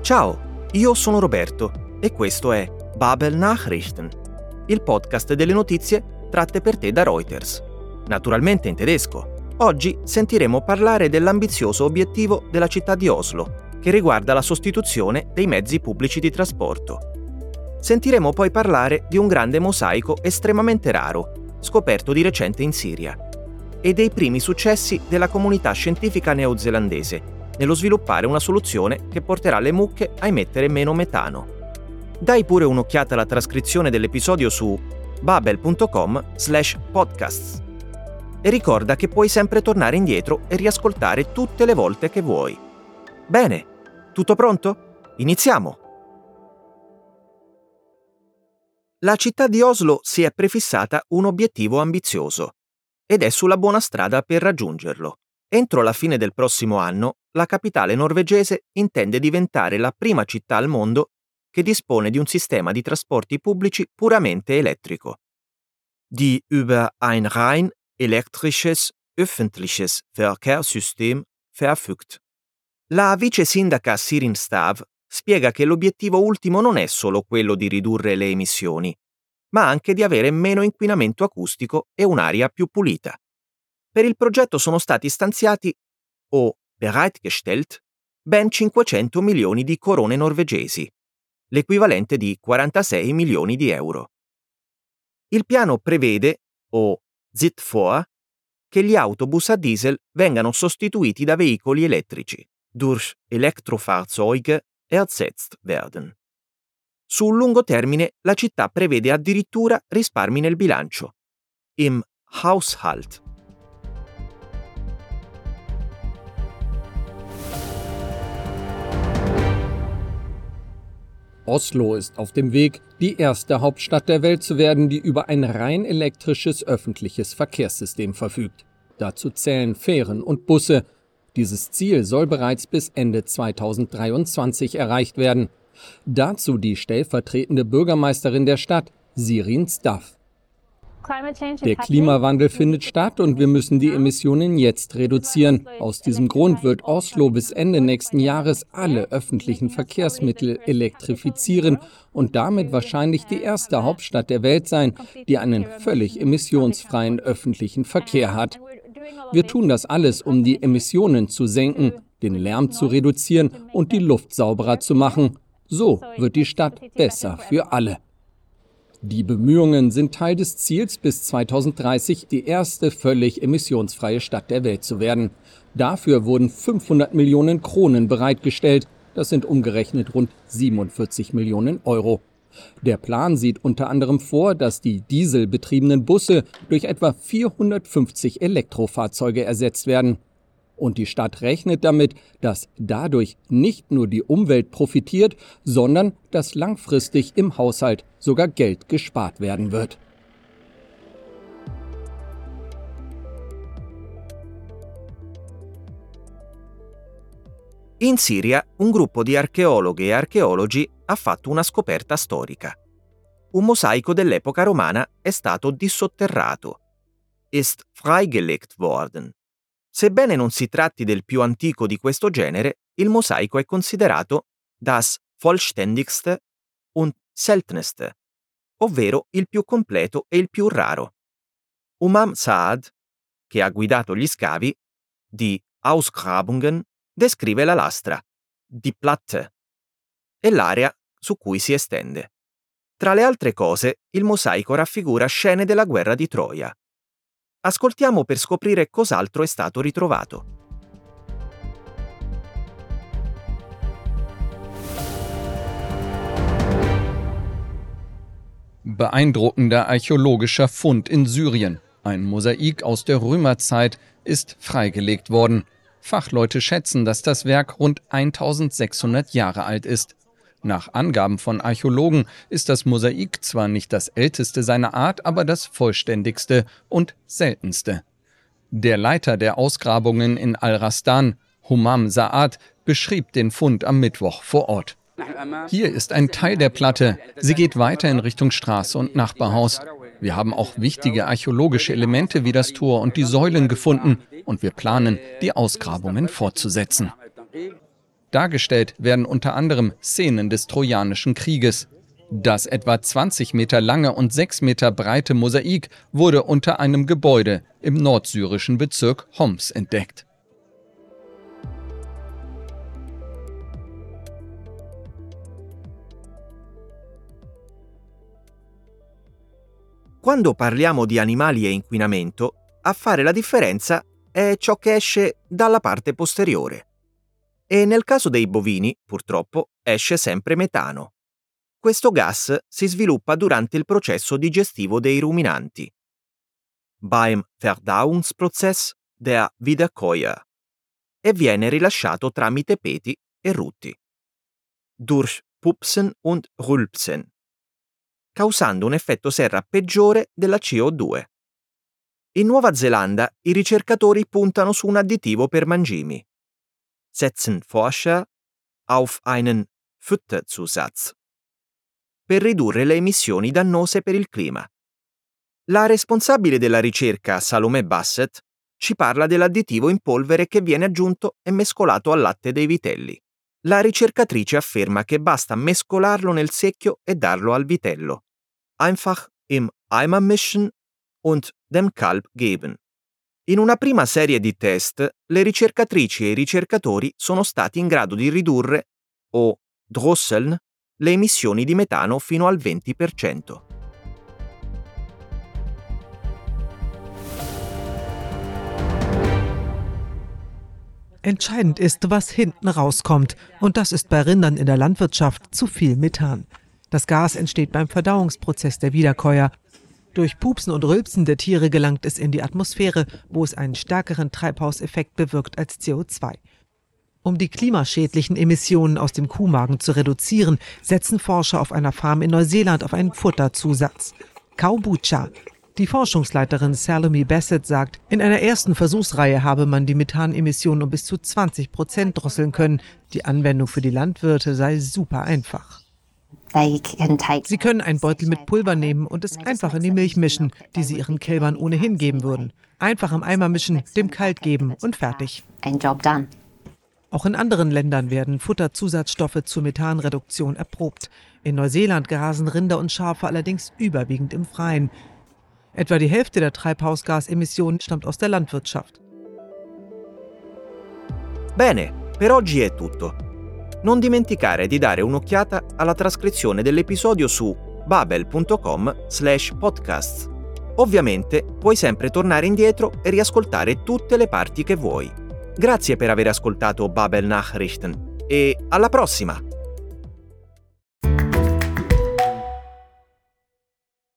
Ciao, io sono Roberto e questo è Babel Nachrichten, il podcast delle notizie tratte per te da Reuters, naturalmente in tedesco. Oggi sentiremo parlare dell'ambizioso obiettivo della città di Oslo, che riguarda la sostituzione dei mezzi pubblici di trasporto. Sentiremo poi parlare di un grande mosaico estremamente raro, scoperto di recente in Siria, e dei primi successi della comunità scientifica neozelandese nello sviluppare una soluzione che porterà le mucche a emettere meno metano. Dai pure un'occhiata alla trascrizione dell'episodio su babel.com/podcasts e ricorda che puoi sempre tornare indietro e riascoltare tutte le volte che vuoi. Bene, tutto pronto? Iniziamo! La città di Oslo si è prefissata un obiettivo ambizioso ed è sulla buona strada per raggiungerlo. Entro la fine del prossimo anno, la capitale norvegese intende diventare la prima città al mondo che dispone di un sistema di trasporti pubblici puramente elettrico. Die über ein rein elektrisches öffentliches Verkehrssystem verfügt. La vice sindaca Sirin Stav spiega che l'obiettivo ultimo non è solo quello di ridurre le emissioni, ma anche di avere meno inquinamento acustico e un'aria più pulita. Per il progetto sono stati stanziati, o bereitgestellt, ben 500 milioni di corone norvegesi, l'equivalente di 46 milioni di euro. Il piano prevede, o sieht vor, che gli autobus a diesel vengano sostituiti da veicoli elettrici, durch Elektrofahrzeuge ersetzt werden. Sul lungo termine la città prevede addirittura risparmi nel bilancio, im Haushalt. Oslo ist auf dem Weg, die erste Hauptstadt der Welt zu werden, die über ein rein elektrisches öffentliches Verkehrssystem verfügt. Dazu zählen Fähren und Busse. Dieses Ziel soll bereits bis Ende 2023 erreicht werden. Dazu die stellvertretende Bürgermeisterin der Stadt, Sirin Stav. Der Klimawandel findet statt und wir müssen die Emissionen jetzt reduzieren. Aus diesem Grund wird Oslo bis Ende nächsten Jahres alle öffentlichen Verkehrsmittel elektrifizieren und damit wahrscheinlich die erste Hauptstadt der Welt sein, die einen völlig emissionsfreien öffentlichen Verkehr hat. Wir tun das alles, um die Emissionen zu senken, den Lärm zu reduzieren und die Luft sauberer zu machen. So wird die Stadt besser für alle. Die Bemühungen sind Teil des Ziels, bis 2030 die erste völlig emissionsfreie Stadt der Welt zu werden. Dafür wurden 500 Millionen Kronen bereitgestellt. Das sind umgerechnet rund 47 Millionen Euro. Der Plan sieht unter anderem vor, dass die dieselbetriebenen Busse durch etwa 450 Elektrofahrzeuge ersetzt werden. Und die Stadt rechnet damit, dass dadurch nicht nur die Umwelt profitiert, sondern dass langfristig im Haushalt sogar Geld gespart werden wird. In Siria, un gruppo di archeologhe e archeologi ha fatto una scoperta storica. Un mosaico dell'epoca romana è stato dissotterrato, ist freigelegt worden. Sebbene non si tratti del più antico di questo genere, il mosaico è considerato das vollständigste und seltenste, ovvero il più completo e il più raro. Umam Saad, che ha guidato gli scavi, di Ausgrabungen, descrive la lastra, die Platte, e l'area su cui si estende. Tra le altre cose, il mosaico raffigura scene della guerra di Troia. Ascoltiamo per scoprire cos'altro è stato ritrovato. Beeindruckender archäologischer Fund in Syrien. Ein Mosaik aus der Römerzeit ist freigelegt worden. Fachleute schätzen, dass das Werk rund 1600 Jahre alt ist. Nach Angaben von Archäologen ist das Mosaik zwar nicht das älteste seiner Art, aber das vollständigste und seltenste. Der Leiter der Ausgrabungen in Al-Rastan, Humam Saad, beschrieb den Fund am Mittwoch vor Ort. Hier ist ein Teil der Platte. Sie geht weiter in Richtung Straße und Nachbarhaus. Wir haben auch wichtige archäologische Elemente wie das Tor und die Säulen gefunden und wir planen, die Ausgrabungen fortzusetzen. Dargestellt werden unter anderem Szenen des Trojanischen Krieges. Das etwa 20 Meter lange und 6 Meter breite Mosaik wurde unter einem Gebäude im nordsyrischen Bezirk Homs entdeckt. Quando parliamo di animali e inquinamento, a fare la differenza è ciò che esce dalla parte posteriore. E nel caso dei bovini, purtroppo, esce sempre metano. Questo gas si sviluppa durante il processo digestivo dei ruminanti. Beim Verdauungsprozess der Wiederkäuer e viene rilasciato tramite peti e rutti. Durch Pupsen und Rülpsen, causando un effetto serra peggiore della CO2. In Nuova Zelanda i ricercatori puntano su un additivo per mangimi. Setzen Forscher auf einen Futterzusatz per ridurre le emissioni dannose per il clima. La responsabile della ricerca, Salomé Bassett, ci parla dell'additivo in polvere che viene aggiunto e mescolato al latte dei vitelli. La ricercatrice afferma che basta mescolarlo nel secchio e darlo al vitello. Einfach im Eimer mischen und dem Kalb geben. In una prima serie di test, le ricercatrici e i ricercatori sono stati in grado di ridurre, o drosseln, le emissioni di metano fino al 20%. Entscheidend ist, was hinten rauskommt. Und das ist bei Rindern in der Landwirtschaft zu viel Methan. Das Gas entsteht beim Verdauungsprozess der Wiederkäuer. Durch Pupsen und Rülpsen der Tiere gelangt es in die Atmosphäre, wo es einen stärkeren Treibhauseffekt bewirkt als CO2. Um die klimaschädlichen Emissionen aus dem Kuhmagen zu reduzieren, setzen Forscher auf einer Farm in Neuseeland auf einen Futterzusatz. Kombucha. Die Forschungsleiterin Salomé Bassett sagt, in einer ersten Versuchsreihe habe man die Methanemissionen um bis zu 20% drosseln können. Die Anwendung für die Landwirte sei super einfach. Sie können einen Beutel mit Pulver nehmen und es einfach in die Milch mischen, die sie ihren Kälbern ohnehin geben würden. Einfach im Eimer mischen, dem Kalt geben und fertig. Auch in anderen Ländern werden Futterzusatzstoffe zur Methanreduktion erprobt. In Neuseeland grasen Rinder und Schafe allerdings überwiegend im Freien. Etwa die Hälfte der Treibhausgasemissionen stammt aus der Landwirtschaft. Bene, per oggi è tutto. Non dimenticare di dare un'occhiata alla trascrizione dell'episodio su babel.com/podcasts. Ovviamente puoi sempre tornare indietro e riascoltare tutte le parti che vuoi. Grazie per aver ascoltato Babel Nachrichten e alla prossima!